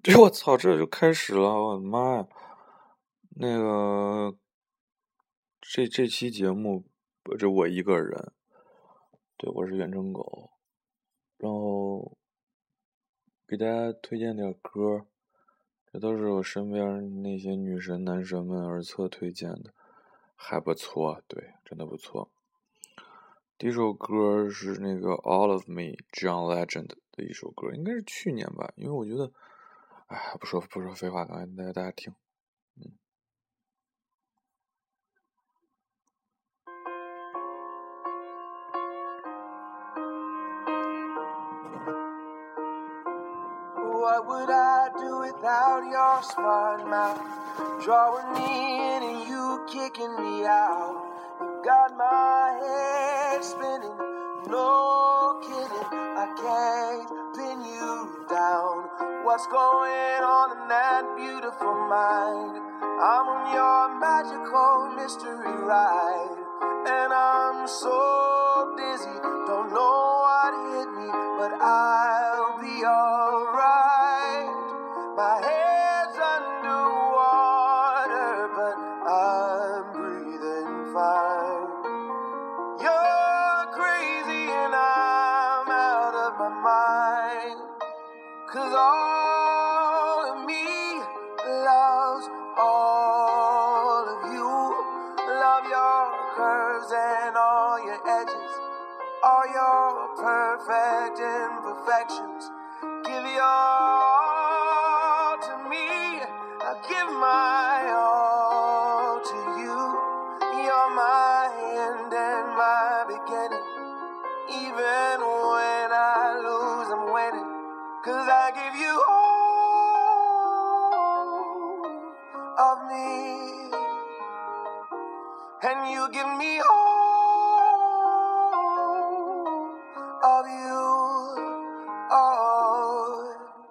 我操，这就开始了，我的妈呀！那个，这期节目，这我一个人，对，我是远程狗，然后给大家推荐点歌，这都是我身边那些女神男神们耳侧推荐的，还不错，对，真的不错。第一首歌是那个 All of Me John Legend 的一首歌，应该是去年吧，因为我觉得，哎，不说废话，刚才大家听。 What would I do without your smart mouth? Drawing me in and you kicking me out. You got my head spinning, no kidding. I can't pin you down. What's going on in that beautiful mind? I'm on your magical mystery ride, and I'm so dizzy, don't know what hit me, but I'll be alright. My head's underwater, but I'm breathing fine. You're crazy and I'm out of my mind, 'cause all of me loves all of you. Love your curves and all your edges, all your perfect imperfections. Give your all to me, I'll give my all to you. You're my end and my beginning. Even when I lose, I'm winning, 'cause I give you all of me, and you give me all of you. Oh,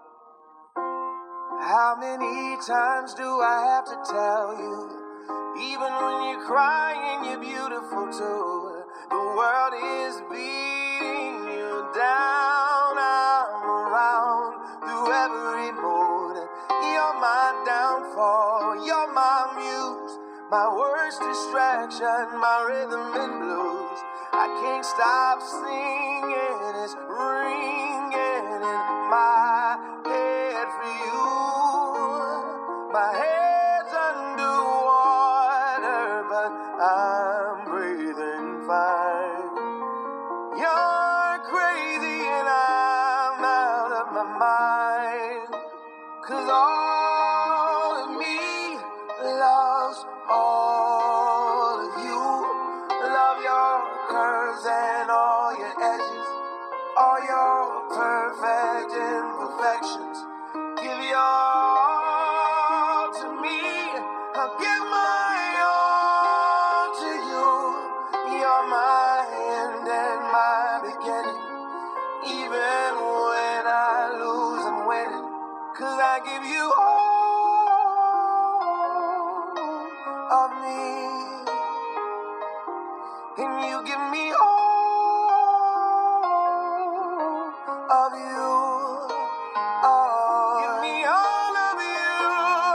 how many times do I have to tell you? Even when you're crying, you're beautiful too. The world is beating you down. I'm around through every mood. You're my downfall, you're my muse, my worst distraction, my rhythm and blues. I can't stop singing, it's ringing in my head for you. My head's underwater, but I'm breathing fine. You're crazy and I'm out of my mind, 'cause all of me loves all of you. Love your curves and all your edges, all your perfect imperfections. Give your all to me, I'll give my all to you. You're my end and my beginning. Even when I lose, I'm winning, 'cause I give you all of me, and you give me all of you. Oh, give me all of you.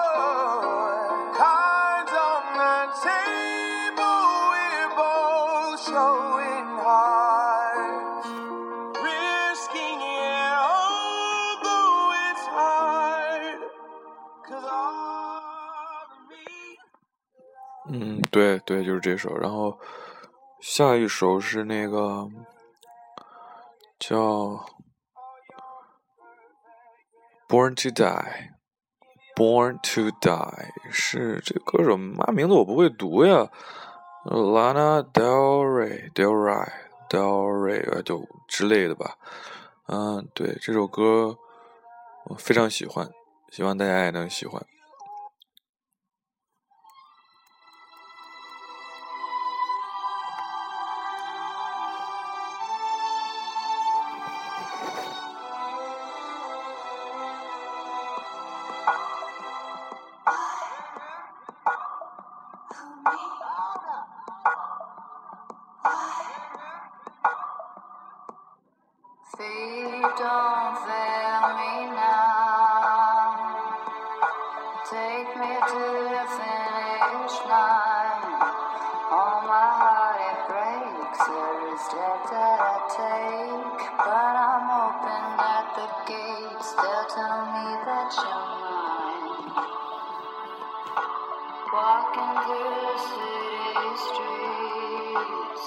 Cards on the table, we're both showing hearts, risking it all, though it's hard, 'cause all of me. 对，就是这首。然后下一首是那个叫 Born to Die，Born to Die 是这歌手妈名字我不会读呀，Lana Del Rey 就之类的吧。对，这首歌我非常喜欢，希望大家也能喜欢。 Fate don't fail me now. me to the finish line. All my heart it breaks every step that I take, but I'm hoping at the gates they'll tell me that you're mine. Walking through the city streets,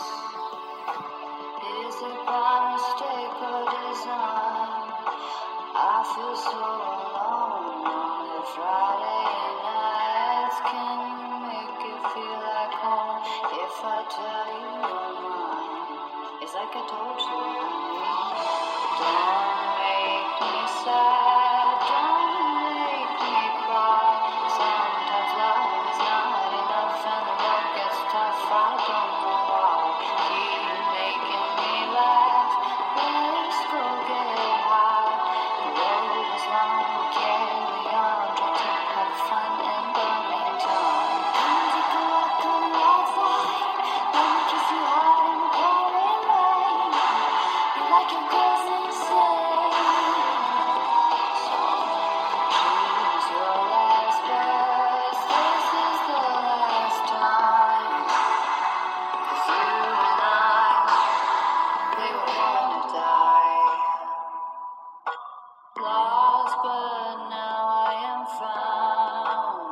is it by mistake or design? I feel so alone on a Friday nights. Can you make it feel like home if I tell you you're mine? It's like I told you, honey. Don't make me sad, don't make me cry. Sometimes love is not enough and the road gets tough. I don't know why. Keep making me laugh. Let's go get high. The road is long, we carry on. Try to have fun in the meantime. Come take a walk on the outside. Let me kiss you hard in the pouring rain. You like your girls insane. So choose your last breath. This is the last time. 'Cause you and I, we were born to die. Lost, but now I am found.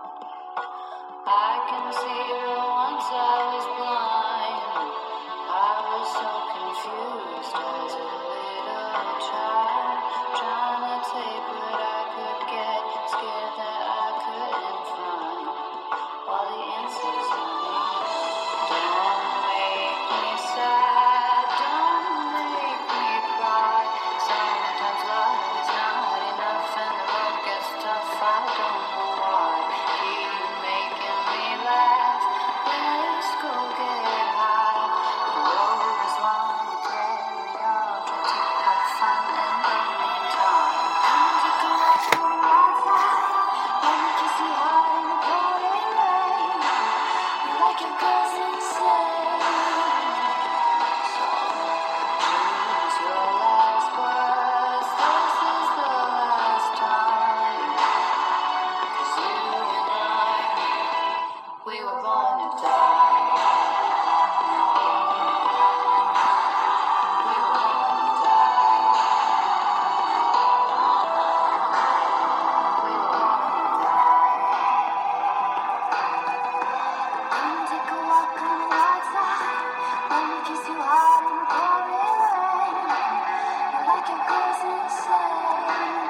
I can see that once I was blind. I was so confused as a little child, trying to take what I could get, scared that I couldn't find all the answers I need. Don't make me sad, don't make me cry. Sometimes love is not enough and the road gets tough. I don't know why. Keep making me laugh. Let's go get high. The road is long, we carry on. Try to have fun in the meantime. Come take a walk on the outside. Let me kiss you hard in the pouring rain. You like your girls insane. So choose your last words. This is the last time. 'Cause you and I, we were born to die. We were born to die. We were born to die. Come take a walk on the outside. Let me kiss you hard in the pouring rain. You like your girls insane.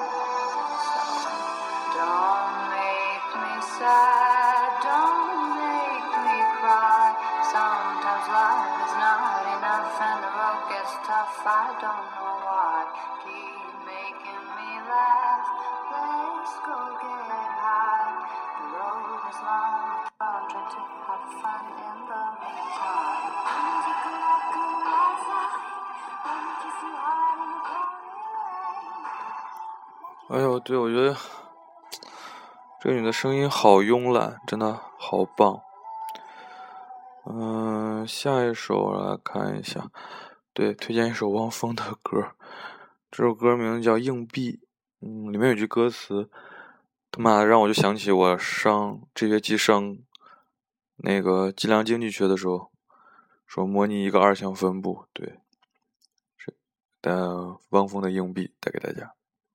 Don't make me sad, don't make me cry. Sometimes love is not enough and the road gets tough. I don't know why. Keep making me laugh. Let's go get high. The road is long, I'll try to have fun in the meantime. Come take a walk on the outside. Let me kiss you hard in the pouring rain. 哎呦，对，我觉得这个女的声音好慵懒，真的好棒。下一首来看一下，对，推荐一首汪峰的歌，这首歌名叫《硬币》，里面有句歌词，他妈的让我就想起我这学期上那个计量经济学的时候，说模拟一个二项分布，对，汪峰的《硬币》带给大家。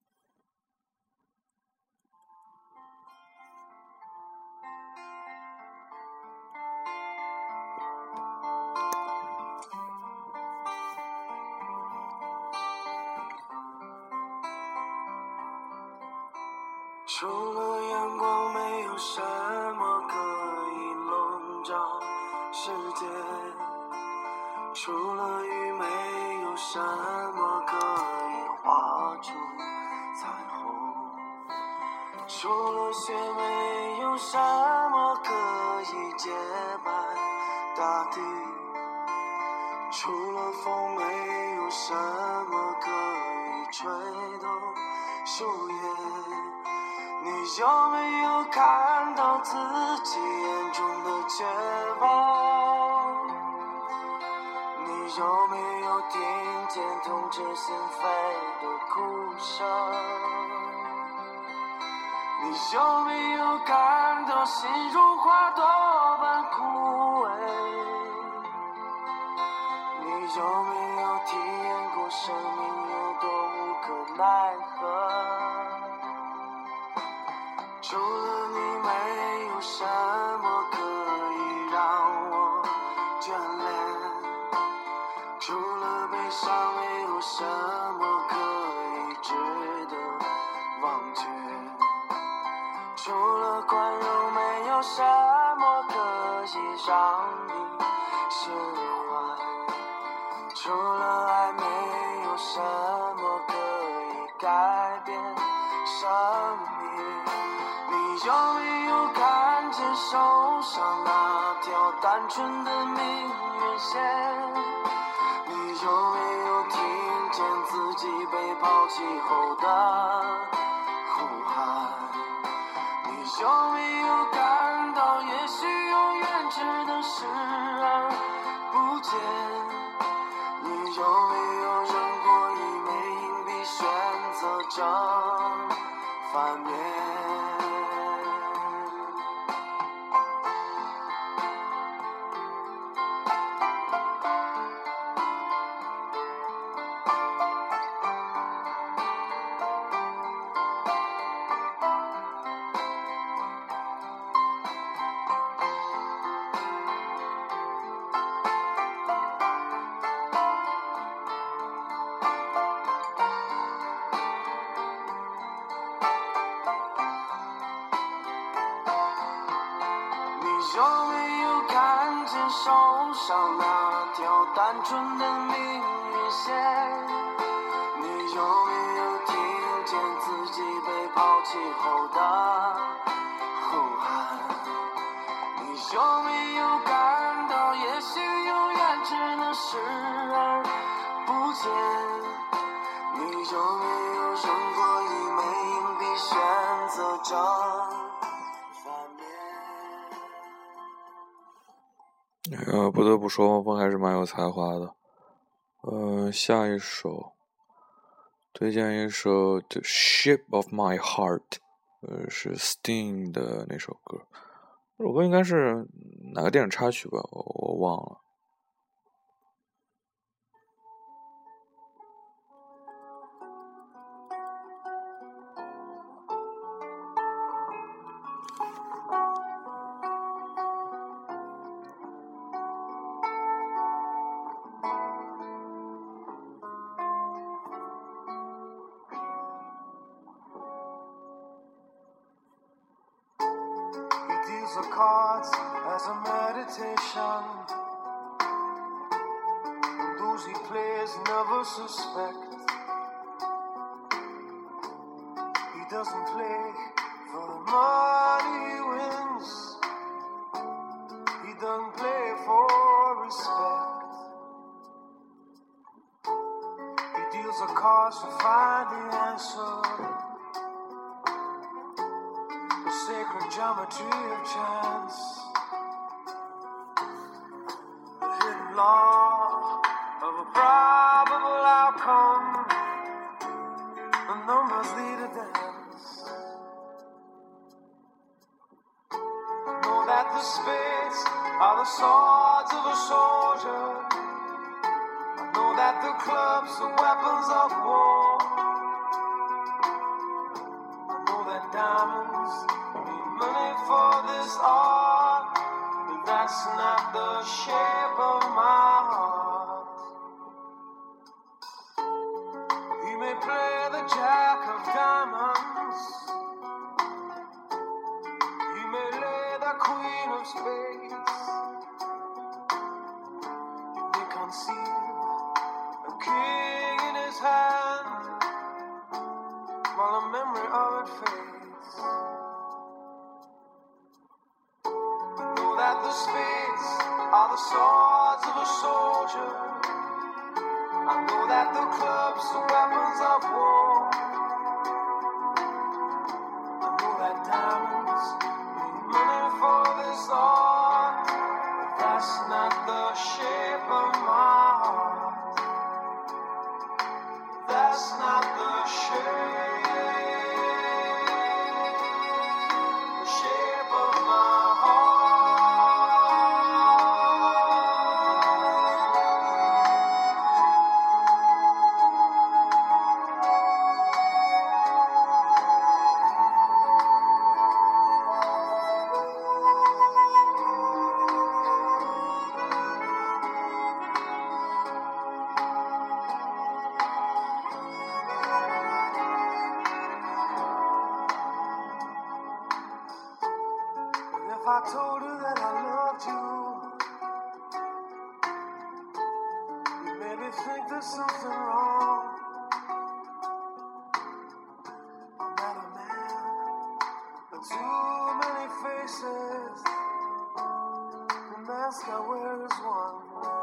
除了阳光，没有什么可以笼罩世界；除了雨，没有什么可以画出彩虹；除了雪，没有什么可以洁白大地；除了风，没有什么可以吹动树叶。你有没有看到自己眼中的绝望？你有没有听见痛彻心扉的哭声？你有没有感到心如花朵般枯萎？你有没有体验过生命有多无可奈何？除了你，没有什么可以让我眷恋；除了悲伤，没有什么可以值得忘却。除了宽容，没有什么可以让你释怀；除了爱，没有什么可以改变生命。你有没有看见手上那条单纯的命运线？你有没有听见自己被抛弃后的呼喊？你有没有感到也许永远只能视而不见？你有没有扔过一枚硬币，选择正反面？有没有看见手上那条单纯的命运线？你有没有听见自己被抛弃后的呼喊？你有没有感到也许永远只能视而不见？你有没有扔过一枚硬币，选择正反面？ 不得不说，汪峰还是蛮有才华的。下一首推荐一首《The Shape of My Heart》，是 Sting 的那首歌。这首歌应该是哪个电影插曲吧，我忘了。 The cards as a meditation, and those he plays never suspect. He doesn't play for the money he wins, he doesn't play for respect. He deals the cards to find the answer, sacred geometry of chance, the hidden law of a probable outcome. The numbers lead a dance. I know that the spades are the swords of a soldier. I know that the clubs are weapons of war. I know that diamonds money for this art, but that's not the shape of my heart. He may play the jack of diamonds, he may lay the queen of spades, he may conceive a king in his hand, while the memory of it fades. That the spades are the swords of a soldier. I know that the clubs are weapons of war. I know that diamonds need money for this art, but that's not the shape of my heart. That's not the shape. I told her that I loved you, you made me think there's something wrong. I'm not a man, but too many faces. The mask I wear is one.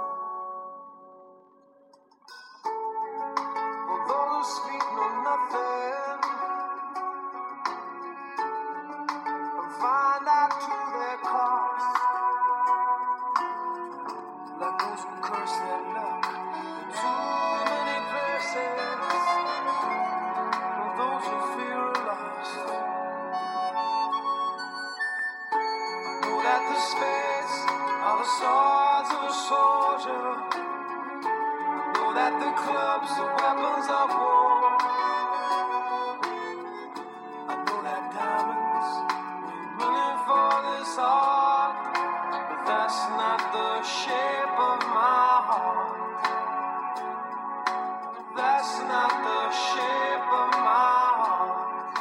For those who speak know nothing and find out to their cost, like those who curse their luck in too many places. For those who fear are lost, know that the spades are the swords of a soldier. Know that the clubs are weapons of war. I know that diamonds mean money for this art, but that's not the shape of my heart. That's not the shape of my heart.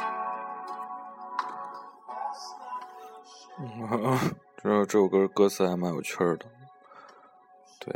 That's not the shape. 这首歌歌词还蛮有趣的，对。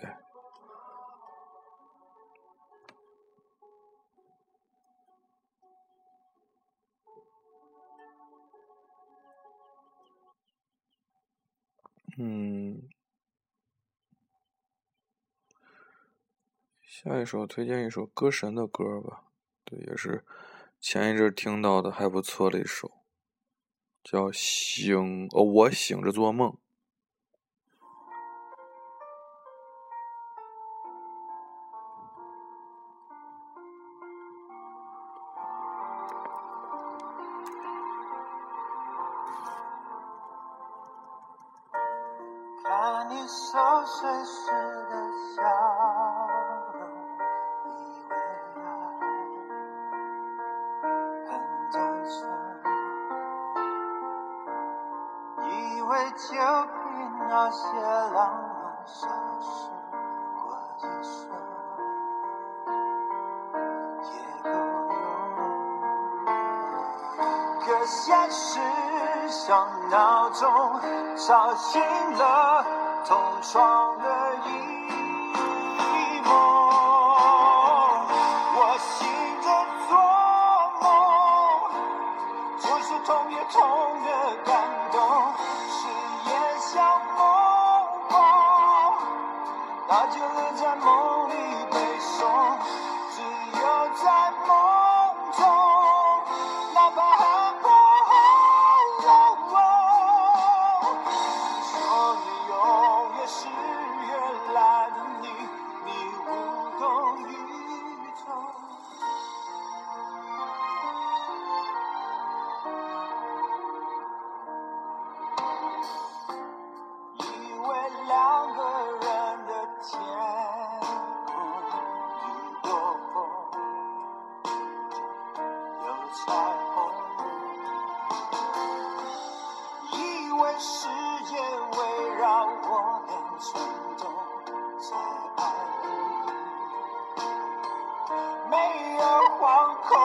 下一首推荐一首歌神的歌吧，对，也是前一阵听到的还不错的一首，叫我醒着做梦。 看你熟睡时的笑容，以为爱很单纯，以为就凭那些浪漫消失过一瞬，也够用。可现实像闹钟吵醒了同床的一梦，我醒着做梦，就是痛也痛的感动，誓言像梦话，那就留在梦里背诵，只有在梦中，哪怕寒风说你永远是原来的你，你无动于衷。以为两个人的天空雨过后有彩虹，以为世界围绕我俩chuyển动在爱里，没有惶恐，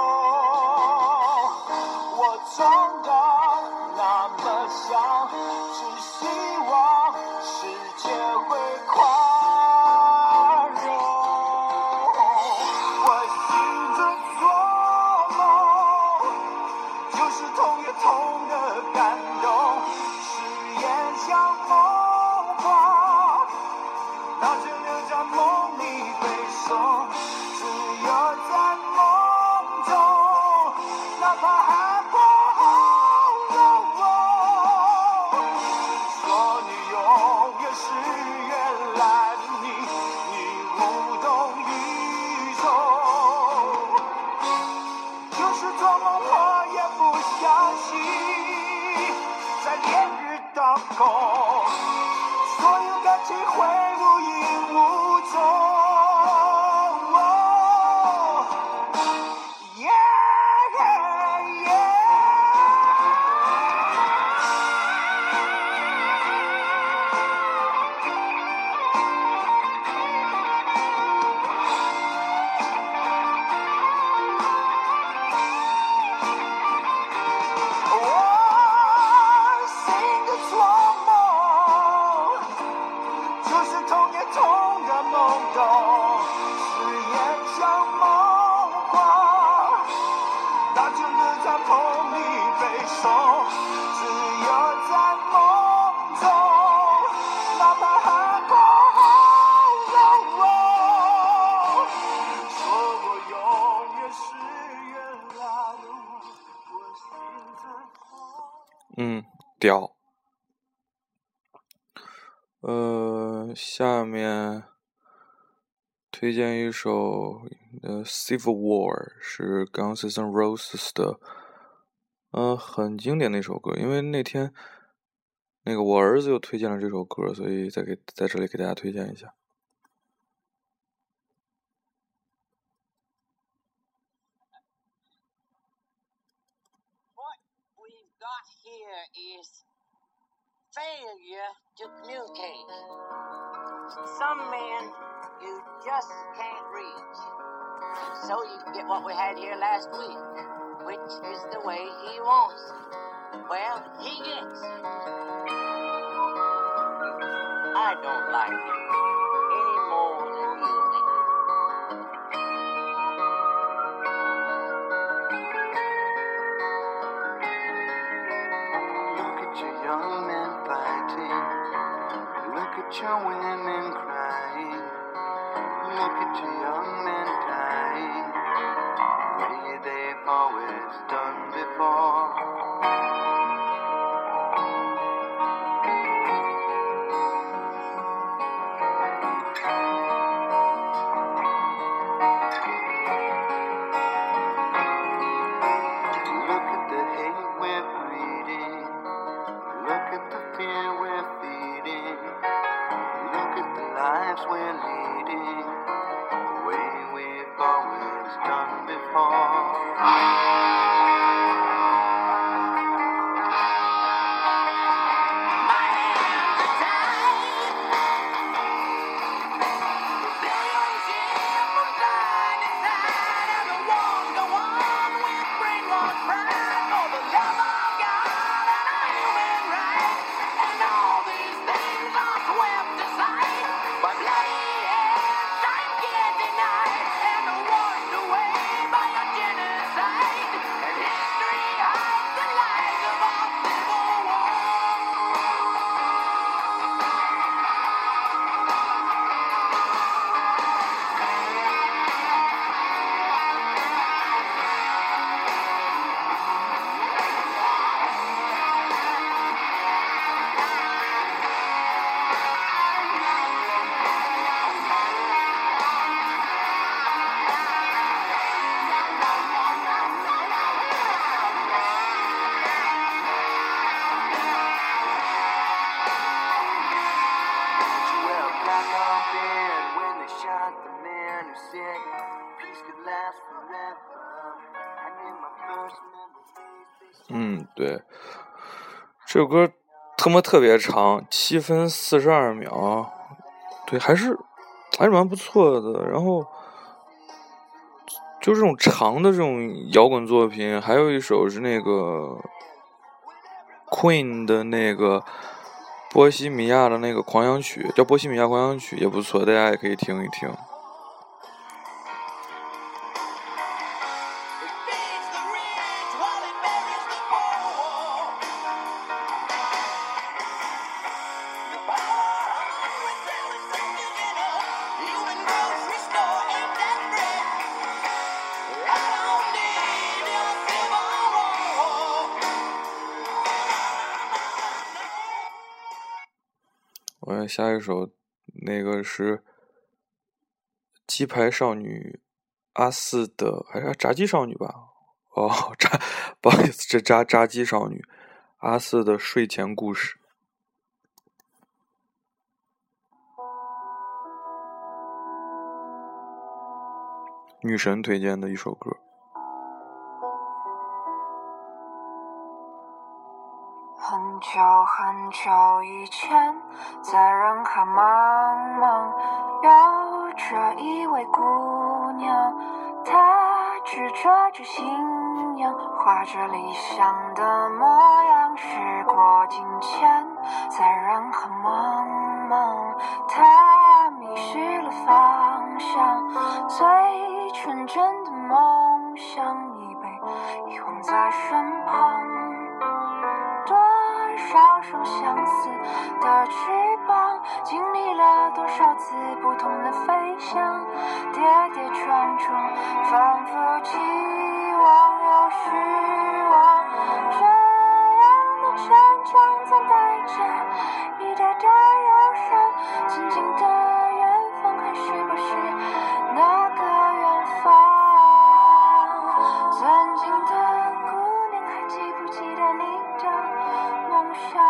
我装的那么想，只希望世界会宽容。我醒着做梦，就是痛也痛的感动，誓言像梦话，那就留在梦里背诵，只有在梦中，哪怕寒风说你永远是原来的你，你无动于衷。就是做梦我也不相信，在烈日当空，所有感情会无影无踪。我醒着做梦， 手，只有在梦中，哪怕海阔说我永远是原来的我心在痛。 屌。下面推荐一首Civil War， 是 Guns N' Roses 的，很经典的一首歌。因为那天那个我儿子又推荐了这首歌，所以在这里给大家推荐一下。 What we've got here is failure to communicate. Some men you just can't reach. So you get what we had here last week, which is the way he wants it. Well, he gets it. I don't like it any more than you do. Look at your young men fighting. Look at your women crying. Look at your young men dying. The way they've always done before. Look at the hate we're breeding. Look at the fear we're feeding. Look at the lives we're leading, the way we've always done before. My hands are tied. Billions shift from side to side, and the wars go on with brainwashed pride for the love of God and our human rights. And all these things are swept aside by bloody hands time can't deny, and are washed away by a genocide. And history hides the lies of our civil war. Well, black on bed when they shot the man who said peace could last forever. I get my first memories. 对，这首歌他妈特别长，7分42秒，对，还是蛮不错的。然后就这种长的这种摇滚作品，还有一首是那个 Queen 的那个波西米亚的那个狂想曲，叫波西米亚狂想曲，也不错，大家也可以听一听。我下一首那个是鸡排少女阿四的，还是炸鸡少女吧？不好意思，这炸鸡少女阿四的睡前故事。女神推荐的一首歌。 很久很久以前，在人海茫茫，有着一位姑娘，她执着着信仰，画着理想的模样。时过境迁，在人海茫茫，她迷失了方向，最纯真的梦想已被遗忘在身旁。 双相似的翅膀，经历了多少次不同的飞翔，跌跌撞撞，反复期望又失望，这样的成长总带着一点点忧伤，曾经的远方还是不是那个远方？曾经的姑娘还记不记得你的梦想？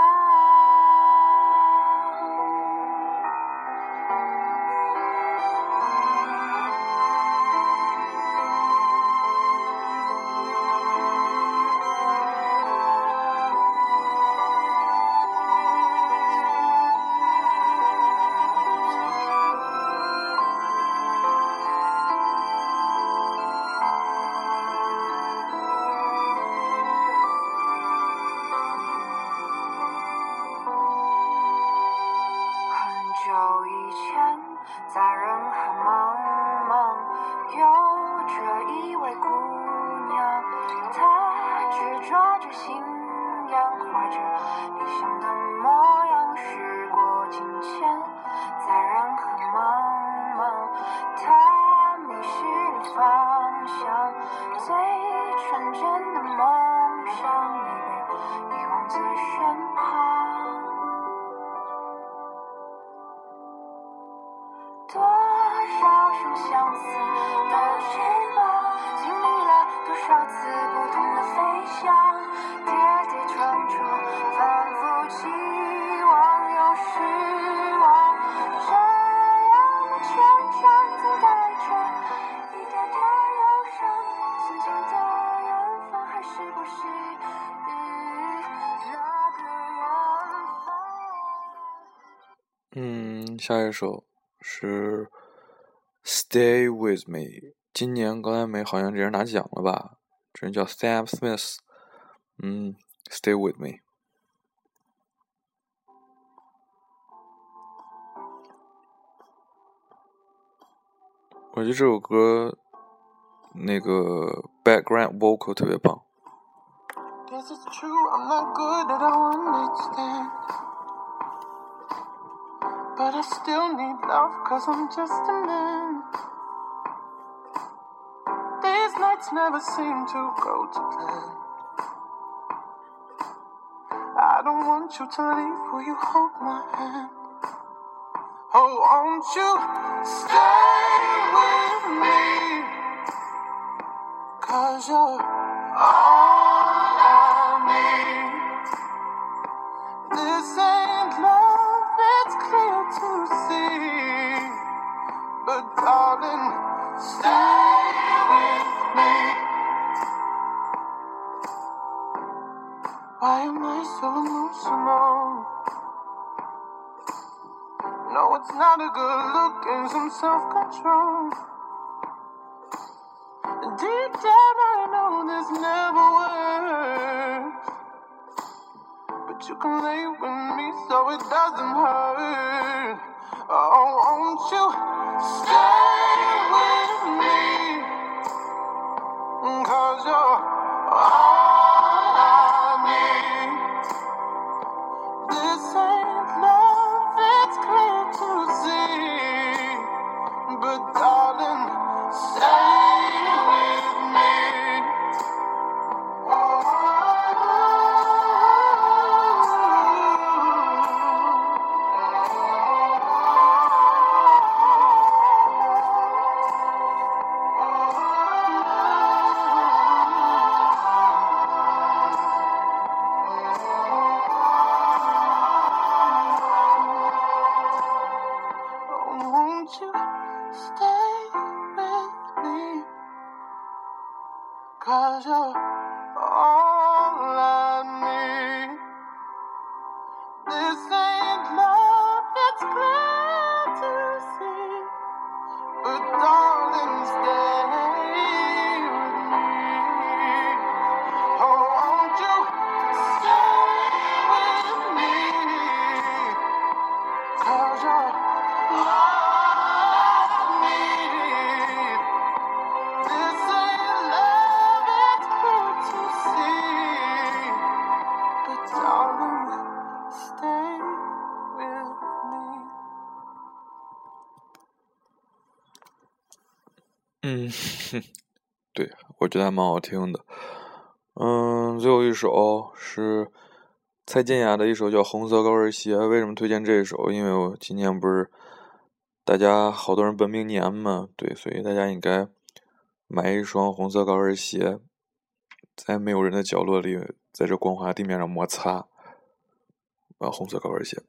久以前，在人海茫茫，有着一位姑娘，她执着着信仰，怀着理想的模样。时过境迁，在人海茫茫，她迷失了方向，最纯真的梦想已被遗忘在身旁。多少双相似的翅膀，经历了多少次不同的飞翔，跌跌撞撞，反复期望又失望，这样的成长总带着一点点忧伤，曾经的远方还是不是那个远方？下一首是 Stay With Me， 今年格莱美好像这人拿奖了吧，这人叫 Sam Smith。 Stay With Me。 我觉得这首歌那个 background vocal 特别棒。 Guess it's true, I'm not good at all understand, but I still need love, cause I'm just a man. These nights never seem to go to plan. I don't want you to leave, will you hold my hand? Oh, won't you stay with me, cause you're all I need. This ain't love, it's clear to see, but darling, stay with me. Why am I so emotional? No, it's not a good look and some self-control. Deep down I know this never works, but you can lay with me so it doesn't hurt. Oh, won't you stay with me, cause you're all I need. This ain't love, it's clear to see, but darling, stay with me. Won't you stay with me, cause you're all I need. This ain't love, it's clear to see, but darling, stay with me. Oh, won't you stay with me, cause you're all I need. This ain't love, it's clear 对，我觉得还蛮好听的。最后一首是蔡健雅的一首叫《红色高跟鞋》。为什么推荐这一首？因为我今年不是大家好多人本命年嘛，对，所以大家应该买一双红色高跟鞋，在没有人的角落里，在这光滑地面上摩擦。红色高跟鞋。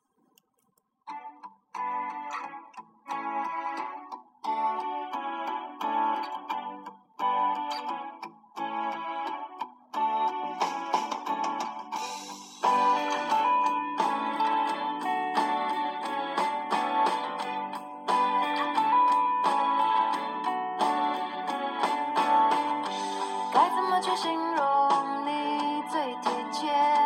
该怎么去形容你最贴切？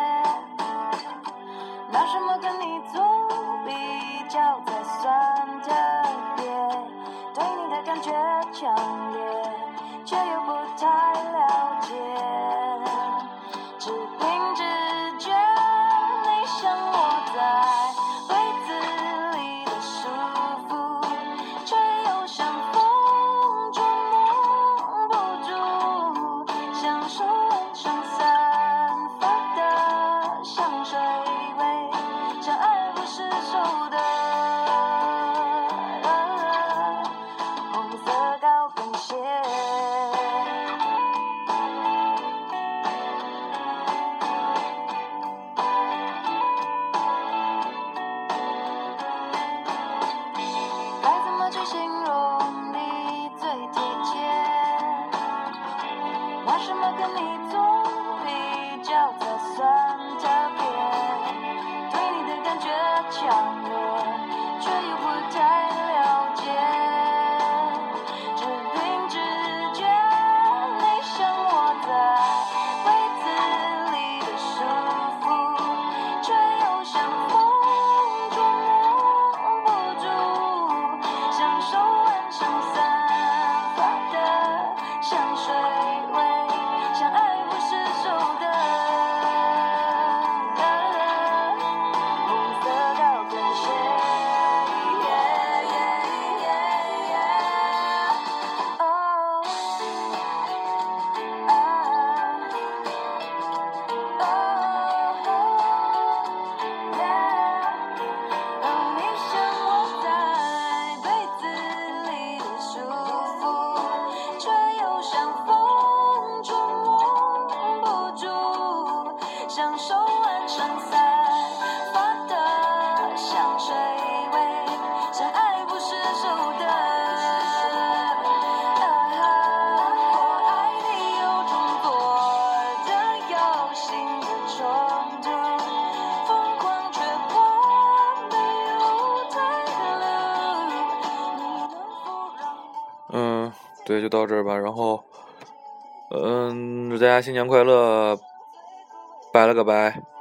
拿什么跟你做比较才算特别？对你的感觉强烈，却又不太了解。只凭直觉，你像我在被子里的束缚，却又像风捉摸不住，像手腕上散发的香水味，像爱不释手的红色高跟鞋。该怎么去形容你最贴切？拿什么跟你做比较才算特别？对你的感觉强烈，却又不太了解。只凭直觉，你像我在被子里的束缚，却又像风捉摸不住，像手腕上散发的香水味，像爱不释手的红色高跟鞋。你像我在被子里的束缚，却又像风捉摸不住，像手腕上散发的香水味，像爱不释手的。我爱你有种多的有心的冲突，疯狂却过没有退路。你能否让我对，就到这儿吧。然后，祝大家新年快乐，拜了个拜。